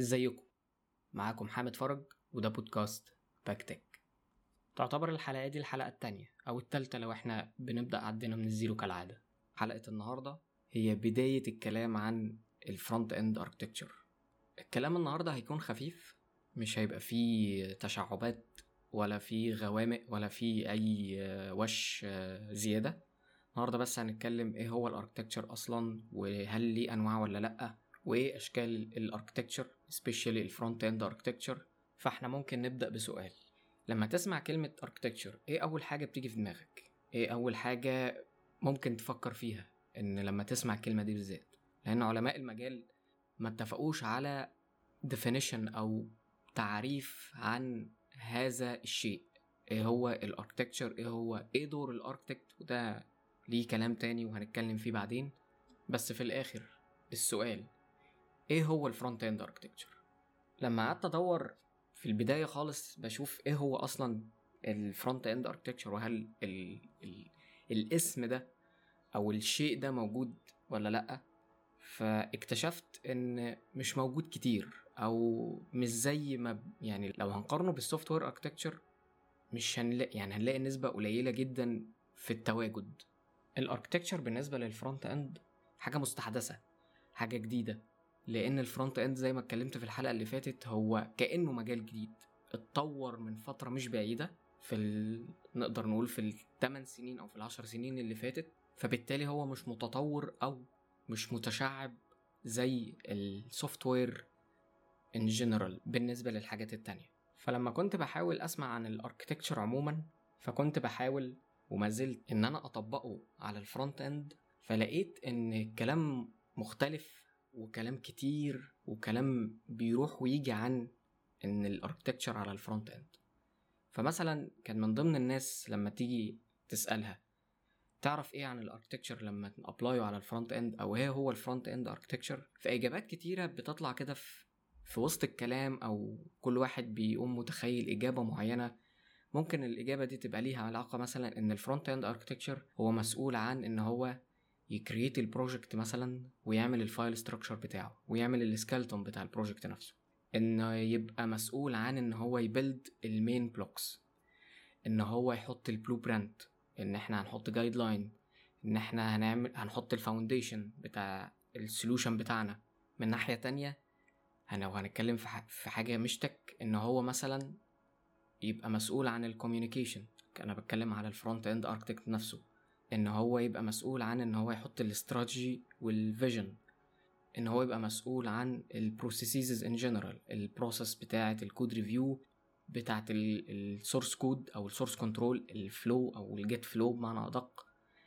ازيكم؟ معاكم حامد فرج، وده بودكاست باك تك. تعتبر الحلقة دي الحلقة التانية أو التالتة لو احنا بنبدأ عدنا من الزيرو كالعادة. حلقة النهاردة هي بداية الكلام عن الفرونت اند اركتكتشر. الكلام النهاردة هيكون خفيف، مش هيبقى فيه تشعبات ولا فيه غوامق ولا فيه أي وش زيادة. النهاردة بس هنتكلم ايه هو الاركتكتشر أصلا، وهل ليه أنواع ولا لأ، وايه اشكال الاركتكتشر especially الفرونت اند اركتكتشر. فاحنا ممكن نبدا بسؤال. لما تسمع كلمه اركتكتشر ايه اول حاجه بتيجي في دماغك؟ ايه اول حاجه ممكن تفكر فيها ان لما تسمع الكلمه دي بالذات؟ لان علماء المجال ما اتفقوش على definition او تعريف عن هذا الشيء. ايه هو الاركتكتشر، ايه دور الاركتكت، وده ليه كلام تاني وهنتكلم فيه بعدين. بس في الاخر السؤال، ايه هو الفرونت اند اركتكتشر؟ لما قعدت ادور في البدايه خالص بشوف ايه هو اصلا الفرونت اند اركتكتشر، وهل الاسم ده او الشيء ده موجود ولا لا. فاكتشفت ان مش موجود كتير، او مش زي ما يعني لو هنقارنه بالسوفت وير اركتكتشر مش هنلاقي، يعني هنلاقي نسبه قليله جدا في التواجد. الاركتكتشر بالنسبه للفرونت اند حاجه مستحدثه، حاجه جديده، لان الفرونت اند زي ما اتكلمت في الحلقه اللي فاتت هو كانه مجال جديد اتطور من فتره مش بعيده نقدر نقول في ال8 سنين او في ال10 سنين اللي فاتت. فبالتالي هو مش متطور او مش متشعب زي السوفت وير ان جنرال بالنسبه للحاجات التانية. فلما كنت بحاول اسمع عن الاركتكتشر عموما، فكنت بحاول وما زلت ان انا اطبقه على الفرونت اند، فلقيت ان الكلام مختلف وكلام كتير وكلام بيروح ويجي عن ان الاركتكتشر على الفرونت اند. فمثلا كان من ضمن الناس لما تيجي تسألها تعرف ايه عن الاركتكتشر لما ابلايو على الفرونت اند، او ايه هو الفرونت اند اركتكتشر، فاجابات كتيرة بتطلع كده في وسط الكلام، او كل واحد بيقوم متخيل اجابة معينة. ممكن الاجابة دي تبقى ليها علاقة مثلا ان الفرونت اند اركتكتشر هو مسؤول عن ان هو يكريت البروجكت مثلا، ويعمل الفايل ستراكشر بتاعه، ويعمل السكالتون بتاع البروجكت نفسه، انه يبقى مسؤول عن ان هو يبيلد المين بلوكس، ان هو يحط البلو برنت، ان احنا هنحط جايد لاين، ان احنا هنحط الفاونديشن بتاع السولوشن بتاعنا. من ناحية تانية لو هنتكلم في حاجة مش تك، ان هو مثلا يبقى مسؤول عن الكوميونيكيشن. انا بتكلم على الفرونت اند اركتكت نفسه، ان هو يبقى مسؤول عن ان هو يحط الاستراتيجي والفيجن، ان هو يبقى مسؤول عن البروسيسز ان جنرال، البروسيس بتاعه الكود ريفيو، بتاعه السورس كود او السورس كنترول، الفلو او الجيت فلو بمعنى ادق.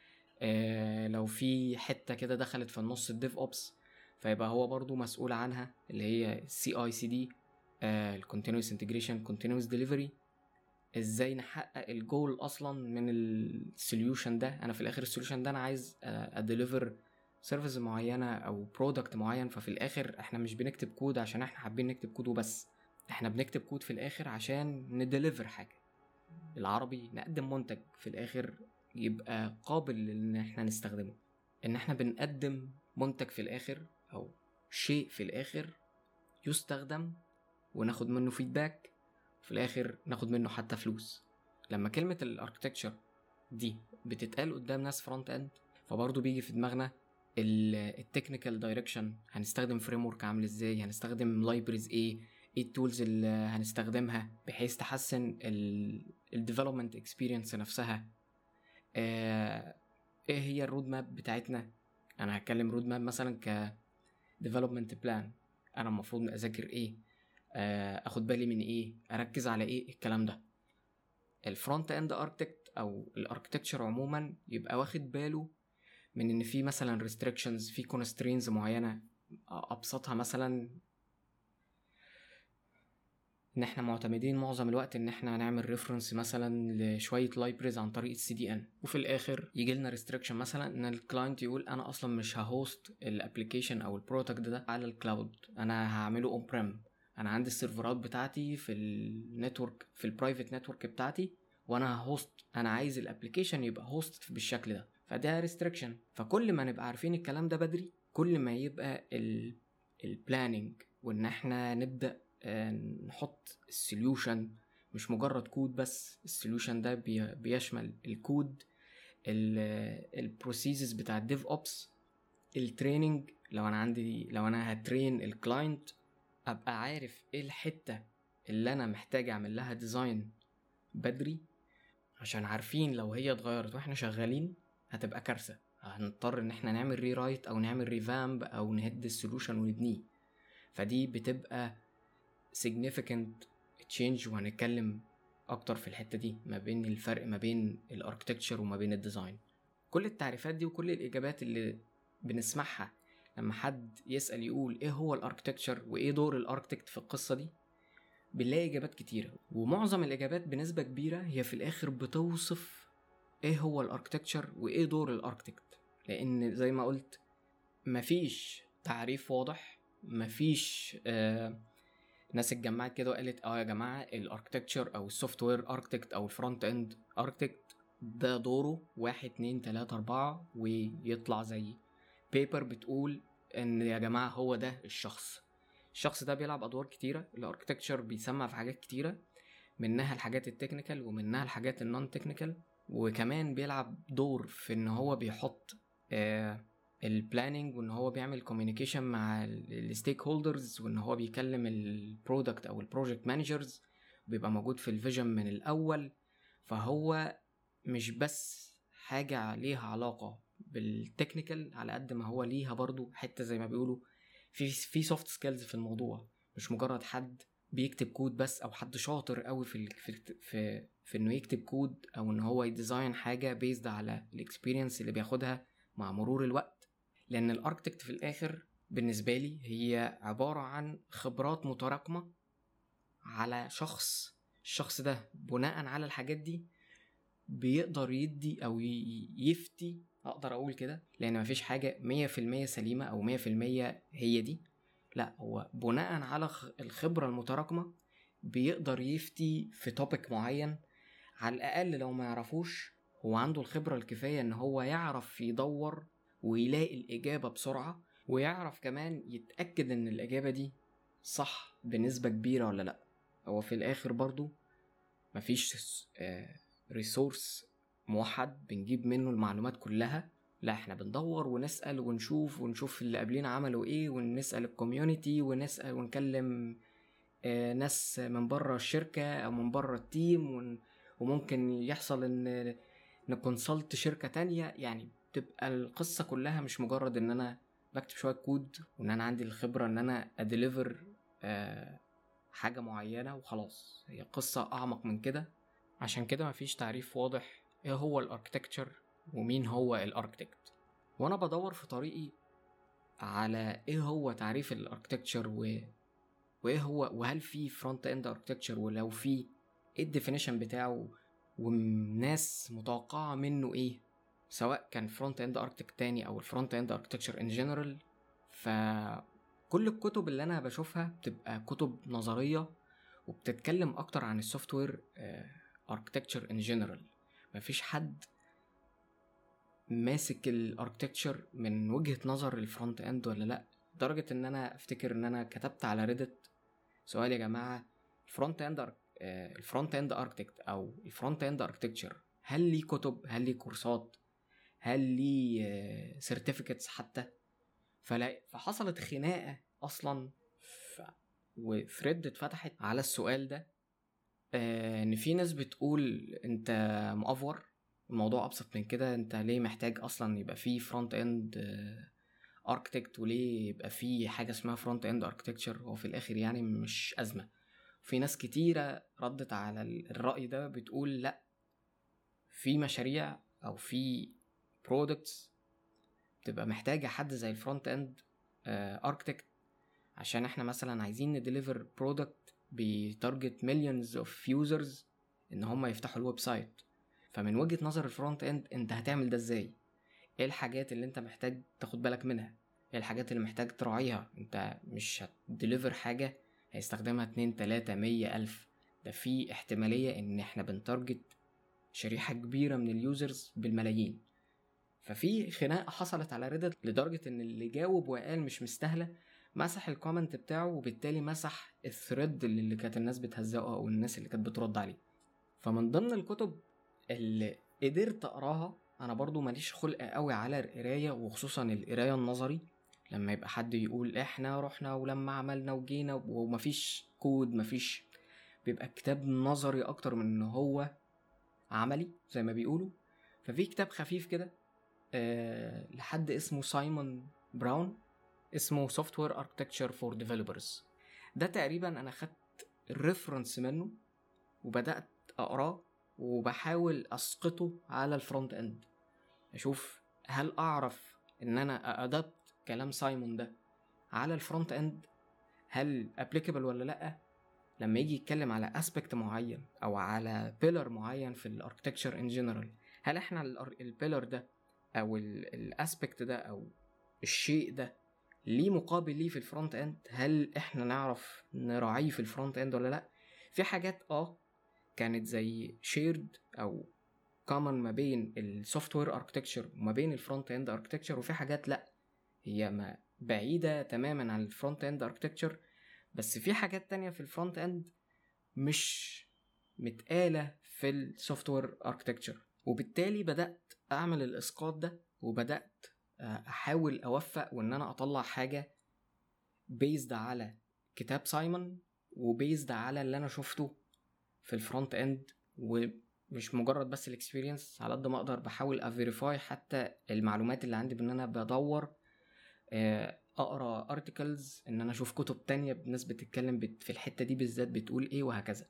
لو في حته كده دخلت في النص الديف اوبس، فيبقى هو برضو مسؤول عنها، اللي هي CI/CD، الكونتينوس انتجريشن كونتينوس ديليفري. ازاي نحقق الجول اصلا من السوليوشن ده؟ انا في الاخر السوليوشن ده انا عايز اديليفر سيرفيس معينه او برودكت معين. ففي الاخر احنا مش بنكتب كود عشان احنا حابين نكتب كود وبس، احنا بنكتب كود في الاخر عشان نديليفر حاجه، بالعربي نقدم منتج في الاخر يبقى قابل ان احنا نستخدمه. ان احنا بنقدم منتج في الاخر او شيء في الاخر يستخدم، وناخد منه فيدباك، في الاخر ناخد منه حتى فلوس. لما كلمة الاركتكتشر دي بتتقال قدام ناس فرونت اند، فبرضه بيجي في دماغنا التكنيكال دايركشن، هنستخدم فريمورك عامل ازاي، هنستخدم لايبريز ايه التولز اللي هنستخدمها بحيث تحسن الديفلوبمنت اكسبيرينس نفسها. ايه هي الرود ماب بتاعتنا؟ انا هتكلم رود ماب مثلا ك development plan، انا المفروض اذاكر ايه، اخد بالي من ايه، اركز على ايه، الكلام ده. الفرونت اند اركتكت او الاركتكتشر عموما يبقى واخد باله من ان في مثلا restrictions، في constraints معينة. ابسطها مثلا ان احنا معتمدين معظم الوقت ان احنا هنعمل ريفرنس مثلا لشويه لايبريز عن طريق CDN، وفي الاخر يجي لنا ريستريكشن مثلا ان الكلاينت يقول انا اصلا مش ههوست الابلكيشن او البرودكت ده على الكلاود، انا هعمله اون بريم، انا عندي السيرفرات بتاعتي في النتورك، في البرايفت نتورك بتاعتي، وانا هوست، انا عايز الابلكيشن يبقى هوست بالشكل ده. فده ريستريكشن. فكل ما نبقى عارفين الكلام ده بدري، كل ما يبقى البلاننج وان احنا نبدأ نحط السوليوشن، مش مجرد كود بس. السوليوشن ده بيشمل الكود، البروسيسز بتاع الديف اوبس، التريننج. لو انا هترين الكلاينت، ابقى عارف ايه الحتة اللي انا محتاج اعمل لها ديزاين بدري، عشان عارفين لو هي اتغيرت واحنا شغالين هتبقى كارثة، هنضطر ان احنا نعمل ري رايت او نعمل ريفامب او نهد السوليوشن ونبنيه. فدي بتبقى significant change، وهنتكلم اكتر في الحتة دي ما بين الفرق ما بين الاركتكتشر وما بين الديزاين. كل التعريفات دي وكل الاجابات اللي بنسمعها لما حد يسأل يقول ايه هو الاركتكتشر وايه دور الاركتكت في القصة دي، بنلاقي اجابات كتيرة، ومعظم الاجابات بنسبة كبيرة هي في الاخر بتوصف ايه هو الاركتكتشر وايه دور الاركتكت. لان زي ما قلت مفيش تعريف واضح، مفيش ناس اتجمعت كده وقالت يا جماعة الاركتكتشر او السوفت وير اركتكت او الفرونت اند اركتكت ده دوره 1 2 3 4 ويطلع زي بيبر بتقول ان يا جماعة هو ده الشخص ده بيلعب ادوار كتيرة. الاركتكتشر بيسمع في حاجات كتيرة، منها الحاجات التكنيكال ومنها الحاجات النون تكنيكال، وكمان بيلعب دور في ان هو بيحط البلاننج، وان هو بيعمل كوميونيكيشن مع الستيك هولدرز، وان هو بيكلم البرودكت او البروجكت مانجرز، بيبقى موجود في الفيجن من الاول. فهو مش بس حاجة ليها علاقة بالتكنيكال على قد ما هو ليها برضو حتة زي ما بيقولوا في سوفت سكيلز في الموضوع، مش مجرد حد بيكتب كود بس او حد شاطر قوي في انه يكتب كود او ان هو يديزاين حاجة بيزد على الاكسبيرينس اللي بياخدها مع مرور الوقت. لان الاركتكت في الاخر بالنسبة لي هي عبارة عن خبرات متراكمة على الشخص ده بناء على الحاجات دي بيقدر يدي او يفتي، اقدر اقول كده، لان مفيش حاجة 100% سليمة او 100% هي دي. لا، هو بناء على الخبرة المتراكمة بيقدر يفتي في توبيك معين. على الاقل لو ما يعرفوش، هو عنده الخبرة الكفاية ان هو يعرف يدور ويلاقي الاجابة بسرعة، ويعرف كمان يتأكد ان الاجابة دي صح بنسبة كبيرة ولا لا. هو في الاخر برضو مفيش ريسورس موحد بنجيب منه المعلومات كلها، لا احنا بندور ونسأل ونشوف اللي قبلنا عملوا ايه، ونسأل الكوميونتي، ونسأل ونكلم ناس من بره الشركة او من بره التيم، وممكن يحصل ان نكونسلت شركة تانية. يعني تبقى القصة كلها مش مجرد ان انا بكتب شوية كود وان انا عندي الخبرة ان انا اديليفر حاجة معينة وخلاص. هي قصة اعمق من كده. عشان كده مفيش تعريف واضح ايه هو الاركتكتشر ومين هو الاركتكت. وانا بدور في طريقي على ايه هو تعريف الاركتكتشر وايه هو، وهل في فرونت اند اركتكتشر، ولو في ايه الديفينيشن بتاعه، والناس متوقعة منه ايه، سواء كان فرونت اند اركتكت تاني او الفرونت اند اركتكتشر ان جنرال. فكل الكتب اللي انا بشوفها بتبقى كتب نظرية وبتتكلم اكتر عن السوفت وير اركتكتشر ان جنرال. مفيش حد ماسك الاركتكتشر من وجهة نظر الفرونت اند ولا لا. لدرجة ان انا افتكر ان انا كتبت على ريدت سؤال يا جماعة، الفرونت اند اركتكت او الفرونت اند اركتكتشر هل ليه كتب، هل ليه كورسات، هل ليه سيرتيفيكتس حتى؟ فحصلت خناقة اصلا وثريد اتفتحت على السؤال ده، ان في ناس بتقول انت مؤفور، الموضوع ابسط من كده، انت ليه محتاج اصلا يبقى فيه فرونت اند اركتكت، وليه يبقى فيه حاجه اسمها فرونت اند اركتكتشر، هو في الاخر يعني مش ازمه. في ناس كتيره ردت على الراي ده بتقول لا، في مشاريع او في برودكتس تبقى محتاجه حد زي الفرونت اند اركتكت، عشان احنا مثلا عايزين نديليفر برودكت بتارجت مليونز اوف يوزرز ان هم يفتحوا الويب سايت. فمن وجهة نظر الفرونت اند انت هتعمل ده ازاي؟ ايه الحاجات اللي انت محتاج تاخد بالك منها؟ ايه الحاجات اللي محتاج تراعيها؟ انت مش هتديليفر حاجة هيستخدمها 2 3 100 ألف، ده في احتمالية ان احنا بنتارجت شريحة كبيرة من اليوزرز بالملايين. ففي خناقة حصلت على ريدت لدرجة ان اللي جاوب وقال مش مستاهلة، مسح الكومنت بتاعه، وبالتالي مسح الثريد اللي كانت الناس بتهزقه او الناس اللي كانت بترد عليه. فمن ضمن الكتب اللي قدرت اقراها، انا برضو ماليش خلق قوي على القرايه، وخصوصا القرايه النظري، لما يبقى حد يقول احنا رحنا ولما عملنا وجينا ومفيش كود، مفيش، بيبقى كتاب نظري اكتر من ان هو عملي زي ما بيقولوا. ففي كتاب خفيف كده لحد اسمه سايمون براون، اسمه Software Architecture for Developers. ده تقريبا انا خدت الريفرنس منه وبدأت اقراه، وبحاول اسقطه على الفرونت اند، اشوف هل اعرف ان انا ادابت كلام سايمون ده على الفرونت اند، هل applicable ولا لا. لما يجي يتكلم على aspect معين او على pillar معين في الاركتكتشر in general، هل احنا البيلر ده او الاسبكت ده او الشيء ده ليه مقابل ليه في الفرونت اند، هل احنا نعرف نراعيه في الفرونت اند ولا لا. في حاجات كانت زي شيرد او كومن ما بين السوفت وير اركتكتشر وما بين الفرونت اند اركتكتشر، وفي حاجات لا، هي ما بعيده تماما عن الفرونت اند اركتكتشر، بس في حاجات تانية في الفرونت اند مش متقاله في السوفت وير اركتكتشر. وبالتالي بدات اعمل الاسقاط ده، وبدات احاول اوفق وان انا اطلع حاجه بيزد على كتاب سايمون، وبيزد على اللي انا شفته في الفرونت اند، ومش مجرد بس الاكسبيرينس، على قد ما اقدر بحاول افيريفاي حتى المعلومات اللي عندي، بان انا بدور اقرا ارتكلز، ان انا اشوف كتب تانية بناس بتتكلم في الحته دي بالذات بتقول ايه، وهكذا.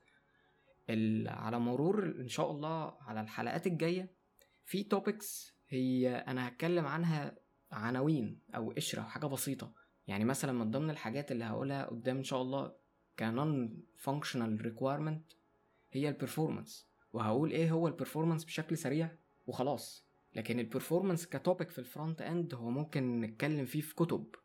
على مرور ان شاء الله على الحلقات الجايه في توبكس هي انا هتكلم عنها عناوين او قشره حاجه بسيطه. يعني مثلا من ضمن الحاجات اللي هقولها قدام ان شاء الله كنون فانكشنال ريكويرمنت هي البرفورمانس، وهقول ايه هو البرفورمانس بشكل سريع وخلاص. لكن البرفورمانس كتوبك في الفرونت اند هو ممكن نتكلم فيه في كتب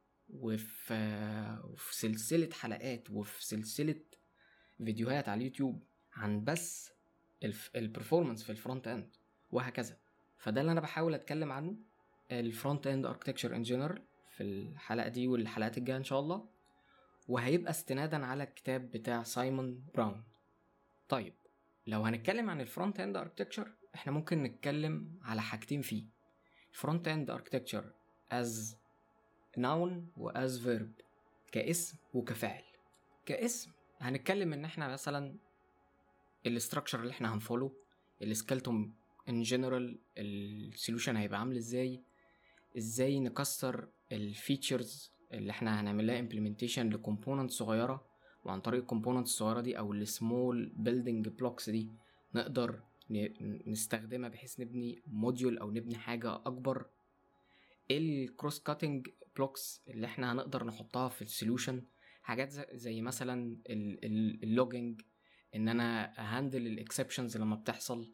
وفي سلسله حلقات وفي سلسله فيديوهات على اليوتيوب عن بس البرفورمانس في الفرونت اند وهكذا. فده اللي انا بحاول اتكلم عنه، الفرونت اند اركتكتشر ان جنرال، في الحلقه دي والحلقات الجايه ان شاء الله، وهيبقى استنادا على الكتاب بتاع سايمون براون. طيب لو هنتكلم عن الفرونت اند اركتكتشر، احنا ممكن نتكلم على حاجتين فيه: فرونت اند اركتكتشر as noun و as verb، كاسم وكفعل. كاسم هنتكلم ان احنا مثلا الاستراكشر اللي احنا هنفولو، السكيلتون ان جنرال، السوليوشن هيبقى عامل ازاي نكسر الفيتشرز اللي احنا هنعمل لها امبلمنتيشن لكومبوننت صغيره، وعن طريق الكومبوننت الصغيره دي او السمول بيلدينج بلوكس دي نقدر نستخدمها بحيث نبني موديول او نبني حاجه اكبر. الكروس كاتنج بلوكس اللي احنا هنقدر نحطها في السوليوشن، حاجات زي مثلا اللوجينج، ان انا هاندل الاكسبشنز لما بتحصل،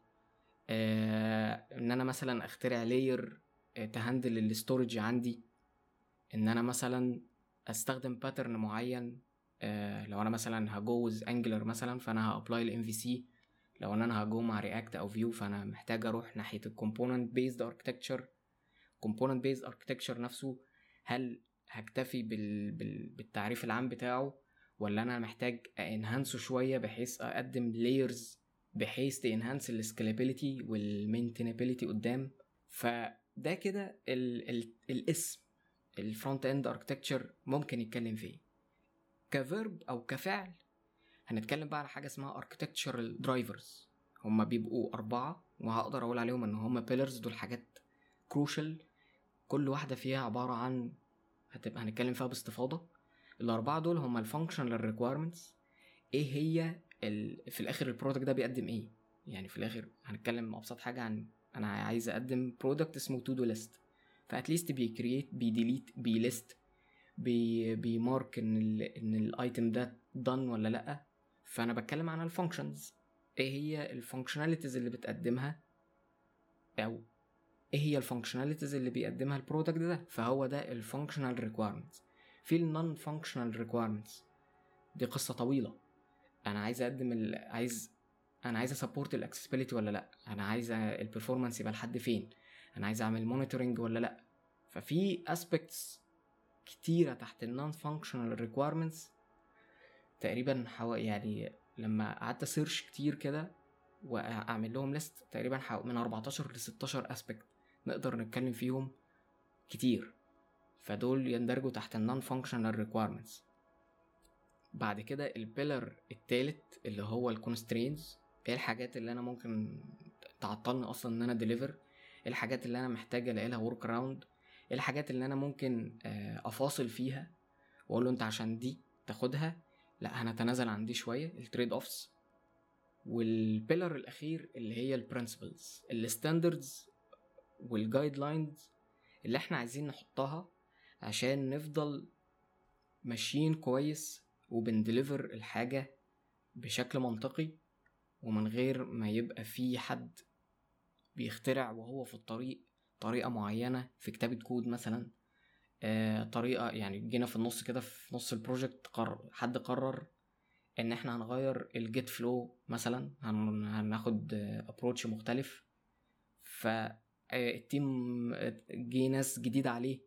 ان انا مثلا اخترع لاير تهندل الاستورج عندي، ان انا مثلا استخدم باترن معين. لو انا مثلا هجوز انجلر مثلا، فانا هابلاي الام في سي. لو انا هجو مع رياكت او فيو، فانا محتاج اروح ناحيه الكومبوننت بيزد اركتكتشر. كومبوننت بيزد اركتكتشر نفسه، هل هكتفي بالتعريف العام بتاعه، ولا انا محتاج انهانسه شويه بحيث اقدم لايرز بحيث تنهانس السكيلابيليتي والمينتينابيليتي قدام. فده كده الاسم الفرونت اند اركتكتشر ممكن يتكلم فيه. كفيرب او كفعل هنتكلم بقى على حاجه اسمها اركتكتشرال درايفرز. هما بيبقوا 4، وهقدر اقول عليهم ان هما بيلرز. دول حاجات كروشال، كل واحده فيها عباره عن هنتكلم فيها باستفاضه. ال4 دول هما الفانكشنال ريكويرمنتس، ايه هي في الاخر البرودكت ده بيقدم ايه. يعني في الاخر هنتكلم ابسط حاجه عن انا عايز اقدم برودكت اسمه تو دو ليست، فاتليست بيكرييت بيديليت بيليست بيمارك ان الايتم ده دان ولا لا. فانا بتكلم عن الفانكشنز، ايه هي الفانكشناليتيز اللي بتقدمها، او ايه هي الفانكشناليتيز اللي بيقدمها البرودكت ده. فهو ده الفانكشنال ريكويرمنتس. في النون فانكشنال ريكويرمنتس دي قصه طويله. انا عايز اقدم انا عايز اسبورت الاكسسبيليتي ولا لا، انا عايز البرفورمانس يبقى لحد فين، انا عايز اعمل مونيتورنج ولا لا. ففي اسبيكتس كتيرة تحت النون فانكشنال ريكويرمنتس تقريبا يعني لما قعدت سيرش كتير كده واعمل لهم ليست تقريبا من 14 ل 16 اسبكت نقدر نتكلم فيهم كتير، فدول يندرجوا تحت النون فانكشنال ريكويرمنتس. بعد كده البيلر التالت اللي هو الكونسترينز، ايه الحاجات اللي انا ممكن تعطلني اصلا ان انا ديليفر، ايه الحاجات اللي انا محتاجه الاقي لها ورك اراوند، ايه الحاجات اللي انا ممكن افاصل فيها واقول له انت عشان دي تاخدها لا هنتنازل عن دي شويه، التريد اوفس. والبيلر الاخير اللي هي البرنسبلز، الستاندردز والجايد لاينز اللي احنا عايزين نحطها عشان نفضل ماشيين كويس وبندليفر الحاجة بشكل منطقي، ومن غير ما يبقى في حد بيخترع وهو في الطريق طريقة معينة في كتابة كود مثلا، طريقة يعني جينا في النص كده في نص البروجكت حد قرر ان احنا هنغير الجيت فلو مثلا، هناخد ابروتش مختلف، فالتيم جه ناس جديد عليه،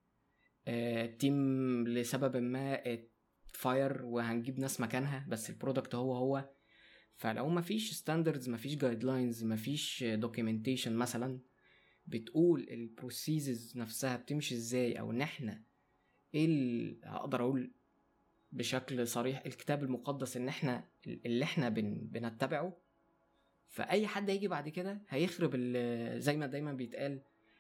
التيم لسبب ما فاير وهنجيب ناس مكانها بس البرودكت هو. فلو مفيش ستاندردز، مفيش جايد لاينز، مفيش دوكيومنتيشن مثلا بتقول البروسيسز نفسها بتمشي ازاي، او ان احنا ايه اقدر اقول بشكل صريح الكتاب المقدس ان احنا اللي احنا بنتبعه، فاي حد هيجي بعد كده هيخرب زي ما دايما بيتقال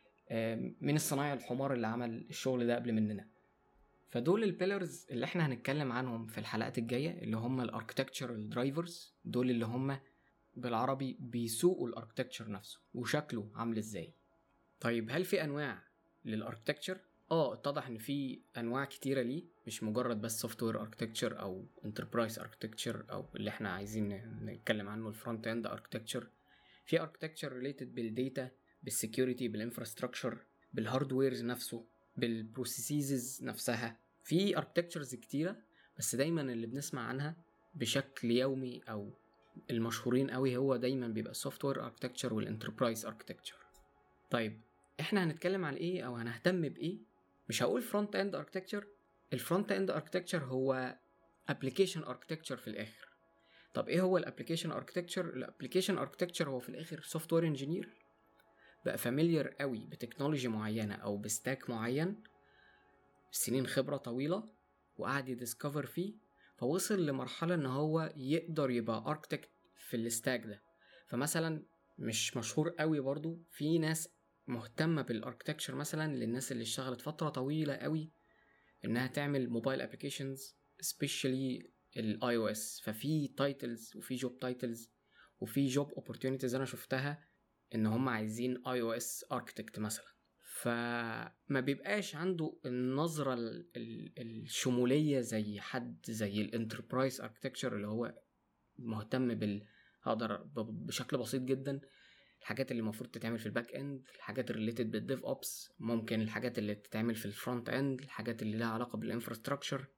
من الصنايع الحمار اللي عمل الشغل ده قبل مننا. فدول البيلرز اللي احنا هنتكلم عنهم في الحلقات الجاية، اللي هم الاركتكتشرال درايفرز، دول اللي هم بالعربي بيسوقوا الاركتكتشر نفسه وشكله عامل ازاي. طيب هل في انواع للاركتكتشر؟ اتضح ان في انواع كتيره ليه، مش مجرد بس سوفت وير اركتكتشر او انتربرايز اركتكتشر او اللي احنا عايزين نتكلم عنه الفرونت اند اركتكتشر. في اركتكتشر ريليتد بالداتا، بالسكيورتي، بالانفراستراكشر، بالهاردويرز نفسه، بالبروسيسز نفسها. في اركتكتشرز كتيره، بس دايما اللي بنسمع عنها بشكل يومي او المشهورين قوي هو دايما بيبقى السوفت وير اركتكتشر والانتربرايز اركتكتشر. طيب احنا هنتكلم على ايه او هنهتم بايه؟ مش هقول فرونت اند اركتكتشر، الفرونت اند اركتكتشر هو ابلكيشن اركتكتشر في الاخر. طب ايه هو الابلكيشن اركتكتشر؟ الابلكيشن اركتكتشر هو في الاخر سوفت وير انجينير بقى فاميليار قوي بتكنولوجي معينه او بستاك معين، سنين خبره طويله وقعد يديسكفر فيه، فوصل لمرحله ان هو يقدر يبقى اركتكت في الستاك ده. فمثلا مش مشهور قوي برضو، في ناس مهتمه بالاركتكتشر مثلا للناس اللي اشتغلت فتره طويله قوي انها تعمل موبايل ابلكيشنز سبيشالي الاي او اس، ففي تايتلز وفي جوب تايتلز وفي جوب اوبورتيونيتيز انا شفتها ان هم عايزين اي او اس اركتكت مثلا، فما بيبقاش عنده النظرة الشمولية زي حد زي الانتربرايز اركتكتشر اللي هو مهتم هقدر بشكل بسيط جدا الحاجات اللي المفروض تتعمل في الباك اند، الحاجات الريليتد بالديف اوبس، ممكن الحاجات اللي تتعمل في الفرونت اند، الحاجات اللي لها علاقة بالانفراستراكشر.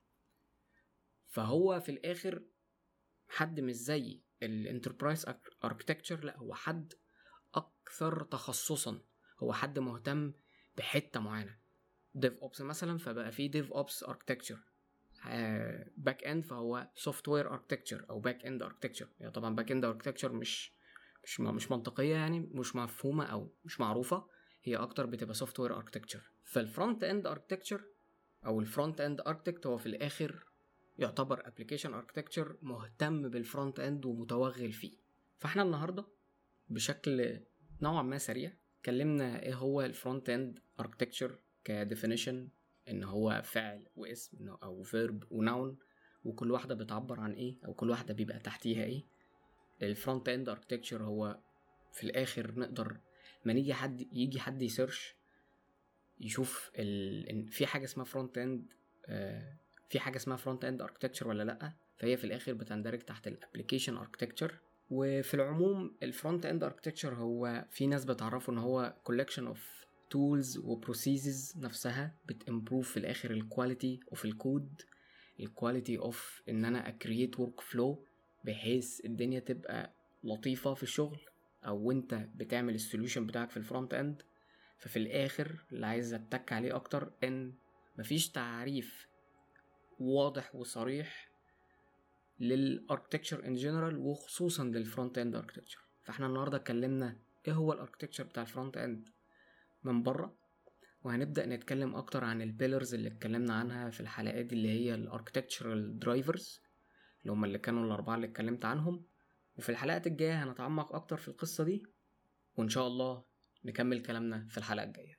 فهو في الاخر حد مش زي الانتربرايز اركتكتشر، لا هو حد اكثر تخصصا، هو حد مهتم بحته معينه. ديف اوبس مثلا فبقى فيه ديف اوبس اركتكتشر، باك اند فهو سوفت وير اركتكتشر او باك اند اركتكتشر. يعني طبعا باك اند اركتكتشر مش منطقيه، يعني مش مفهومه او مش معروفه، هي اكتر بتبقى سوفت وير اركتكتشر. فالفرونت اند اركتكتشر او الفرونت اند اركتكت هو في الاخر يعتبر ابلكيشن اركتكتشر مهتم بالفرونت اند ومتوغل فيه. فاحنا النهارده بشكل نوعا ما سريع اتكلمنا ايه هو الفرونت اند اركتكتشر كديفينيشن، ان هو فعل واسم او فيرب وناون، وكل واحده بتعبر عن ايه او كل واحده بيبقى تحتيها ايه. الفرونت اند اركتكتشر هو في الاخر نقدر ما يجي حد يسيرش يشوف في حاجه اسمها فرونت اند، في حاجه اسمها فرونت اند اركتكتشر ولا لا، فهي في الاخر بتندرج تحت الابلكيشن اركتكتشر. وفي العموم الفرونت اند اركتكتشر هو في ناس بتعرفه ان هو collection of tools وبروسيسز نفسها بتimprove في الاخر الكواليتي اوف الكود، الكواليتي اوف ان انا اكرييت ورك فلو بحيث الدنيا تبقى لطيفة في الشغل او وانت بتعمل السوليوشن بتاعك في الفرونت اند. ففي الاخر اللي عايز اتك عليه اكتر ان مفيش تعريف واضح وصريح للاركتكتشر ان جنرال وخصوصا للفرونت اند اركتكتشر. فاحنا النهارده اتكلمنا ايه هو الاركتكتشر بتاع الفرونت اند من بره، وهنبدا نتكلم اكتر عن البيلرز اللي اتكلمنا عنها في الحلقات دي اللي هي الاركتكتشرال درايفرز اللي هم اللي كانوا الاربعه اللي اتكلمت عنهم. وفي الحلقات الجايه هنتعمق اكتر في القصه دي، وان شاء الله نكمل كلامنا في الحلقه الجايه.